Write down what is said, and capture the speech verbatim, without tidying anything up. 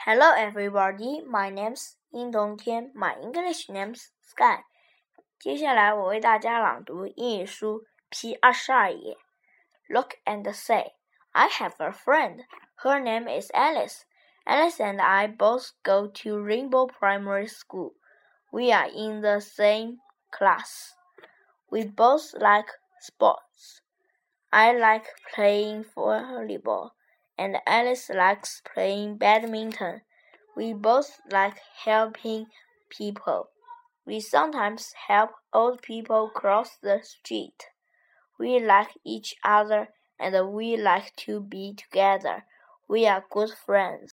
Hello everybody, my name's 殷冬天 My English name's Sky. 接下来我为大家朗读英语书 P 二十二页。Look and say, I have a friend. Her name is Alice. Alice and I both go to Rainbow Primary School. We are in the same class. We both like sports. I like playing volleyball, and Alice likes playing badminton. We both like helping people. We sometimes help old people cross the street. We like each other and we like to be together. We are good friends.